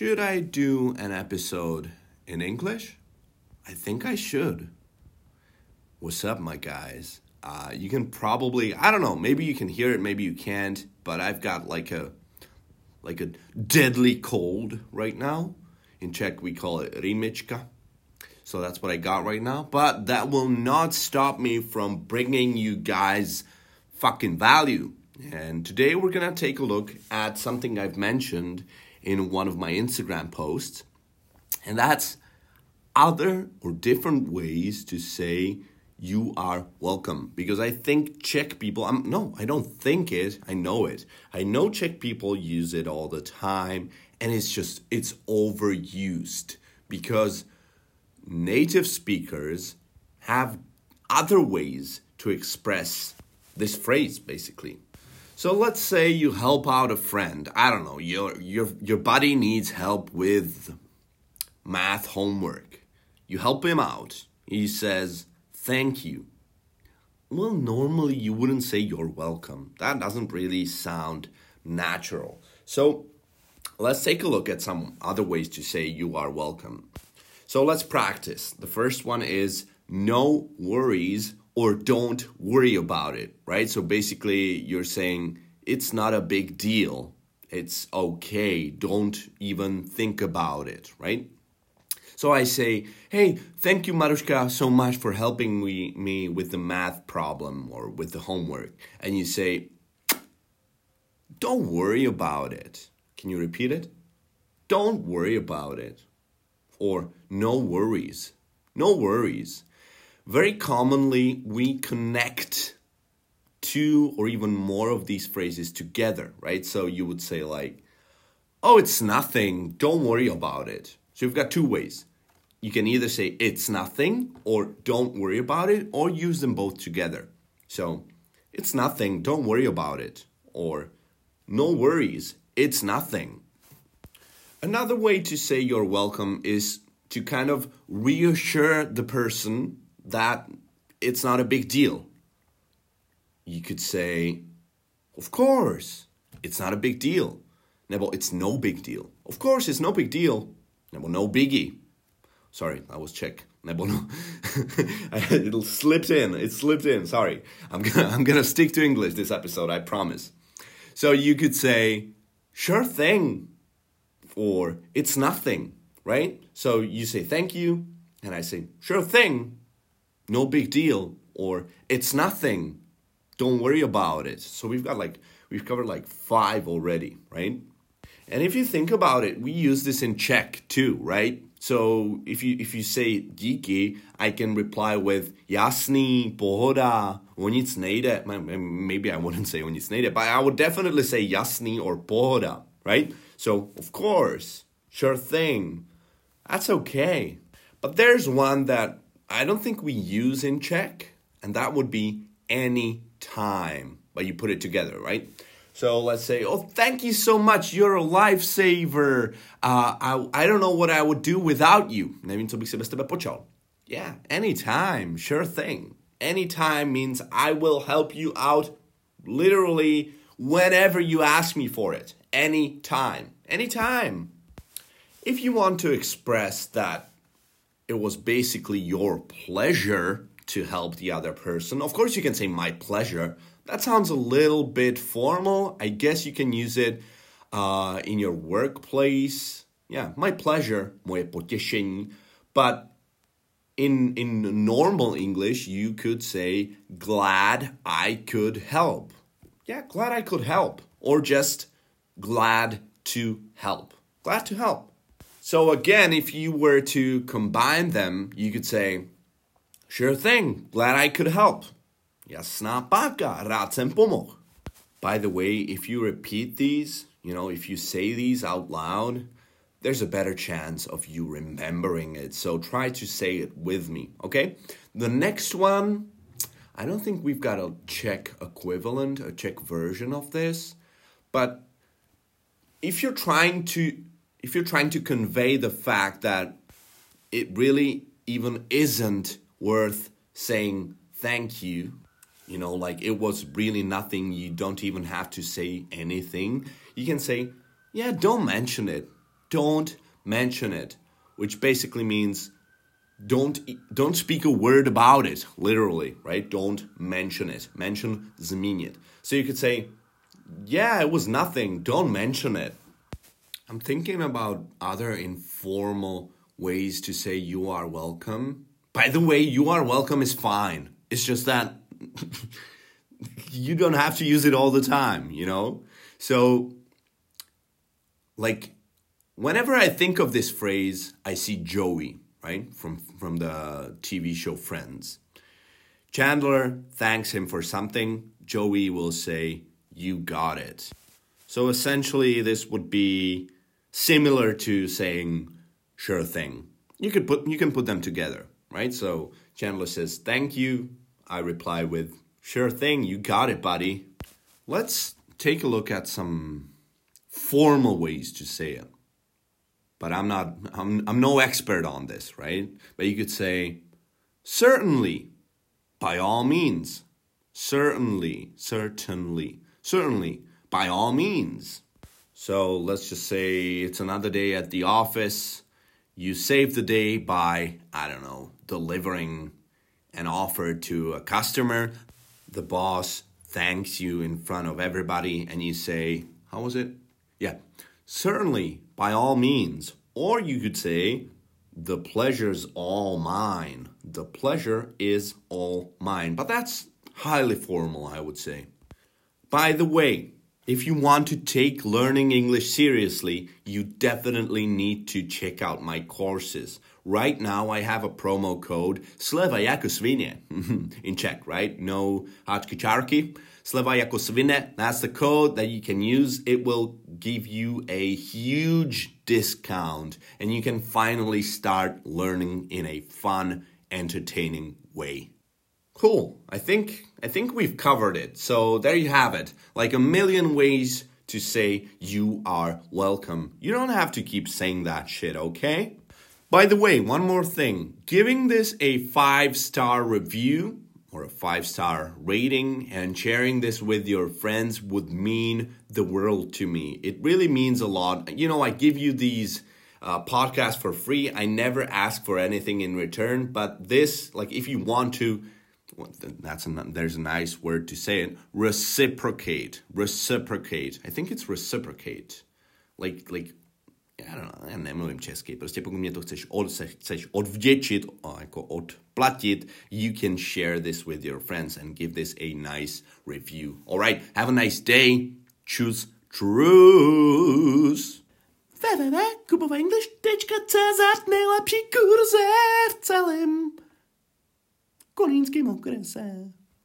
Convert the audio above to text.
Should I do an episode in English? I think I should. What's up, my guys? You can probably, I don't know, maybe you can hear it, maybe you can't, but I've got like a deadly cold right now. In Czech, we call it rimička. So that's what I got right now. But that will not stop me from bringing you guys fucking value. And today we're going to take a look at something I've mentioned in one of my Instagram posts. And that's other or different ways to say you are welcome. Because I think Czech people, I don't think it, I know it. I know Czech people use it all the time. And it's overused. Because native speakers have other ways to express this phrase, basically. So let's say you help out a friend. I don't know, your buddy needs help with math homework. You help him out. He says, thank you. Well, normally you wouldn't say you're welcome. That doesn't really sound natural. So let's take a look at some other ways to say you are welcome. So let's practice. The first one is no worries or don't worry about it, right? So basically you're saying it's not a big deal. It's okay. Don't even think about it, right? So I say, hey, thank you, Marushka, so much for helping me with the math problem or with the homework. And you say, don't worry about it. Can you repeat it? Don't worry about it. Or no worries. No worries. Very commonly, we connect two or even more of these phrases together, right? So you would say like, oh, it's nothing. Don't worry about it. So you've got two ways. You can either say it's nothing or don't worry about it or use them both together. So it's nothing. Don't worry about it. Or no worries. It's nothing. Another way to say you're welcome is to kind of reassure the person that it's not a big deal. You could say, of course, it's not a big deal. Nebo, it's no big deal. Of course, it's no big deal. Nebo, no biggie. Sorry, I was Czech. Nebo, no. It slipped in. Sorry. I'm gonna stick to English this episode, I promise. So you could say, sure thing. Or it's nothing, right? So you say thank you, and I say, sure thing. No big deal, or it's nothing. Don't worry about it. So we've covered like 5 already, right? And if you think about it, we use this in Czech too, right? So if you say díky, I can reply with jasný, pohoda, o nic nejde. Maybe I wouldn't say o nic nejde, but I would definitely say jasný or pohoda, right? So of course, sure thing. That's okay. But there's one that I don't think we use in Czech, and that would be any time. But you put it together, right? So let's say, oh, thank you so much. You're a lifesaver. I don't know what I would do without you. Nevím, co bych si bez tebe počal. Yeah, anytime. Sure thing. Anytime means I will help you out literally whenever you ask me for it. Anytime. Anytime. If you want to express that it was basically your pleasure to help the other person, of course you can say my pleasure. That sounds a little bit formal. I guess you can use it in your workplace. Yeah, my pleasure, moje potěšení. But in normal English, you could say glad I could help. Yeah, glad I could help. Or just glad to help. Glad to help. So again, if you were to combine them, you could say, sure thing, glad I could help. Jasná páka, rád jsem pomohl. By the way, if you repeat these, if you say these out loud, there's a better chance of you remembering it. So try to say it with me, okay? The next one, I don't think we've got a Czech equivalent, a Czech version of this, but if you're trying to convey the fact that it really even isn't worth saying thank you, like it was really nothing, you don't even have to say anything, you can say, yeah, don't mention it. don't mention it, which basically means don't speak a word about it, literally, right? Don't mention it. Mention zmínit. So you could say, yeah, it was nothing. Don't mention it. I'm thinking about other informal ways to say you are welcome. By the way, you are welcome is fine. It's just that you don't have to use it all the time, you know? So, like, whenever I think of this phrase, I see Joey, right? From the TV show Friends. Chandler thanks him for something. Joey will say, you got it. So essentially, this would be similar to saying, sure thing. You can put them together, right? So Chandler says, thank you. I reply with, sure thing, you got it, buddy. Let's take a look at some formal ways to say it. But I'm no expert on this, right? But you could say, certainly, by all means. Certainly, by all means. So let's just say it's another day at the office. You save the day by, I don't know, delivering an offer to a customer. The boss thanks you in front of everybody and you say, how was it? Yeah, certainly, by all means. Or you could say, the pleasure's all mine. The pleasure is all mine. But that's highly formal, I would say. By the way, if you want to take learning English seriously, you definitely need to check out my courses. Right now, I have a promo code Sleva jako svinie in Czech, right? No hačky. Sleva jako svinie, that's the code that you can use. It will give you a huge discount and you can finally start learning in a fun, entertaining way. Cool. I think we've covered it. So there you have it. Like a million ways to say you are welcome. You don't have to keep saying that shit, okay? By the way, one more thing. Giving this a 5-star review or a 5-star rating and sharing this with your friends would mean the world to me. It really means a lot. You know, I give you these podcasts for free. I never ask for anything in return. But this, like if you want to, there's a nice word to say it. Reciprocate. I think it's reciprocate. Like já nemluvím česky, prostě pokud mě to chceš odvděčit, jako odplatit, you can share this with your friends and give this a nice review. All right, have a nice day. Choose truth. www.kubovaenglish.cz nejlepší kurze v celém kolínském okrese.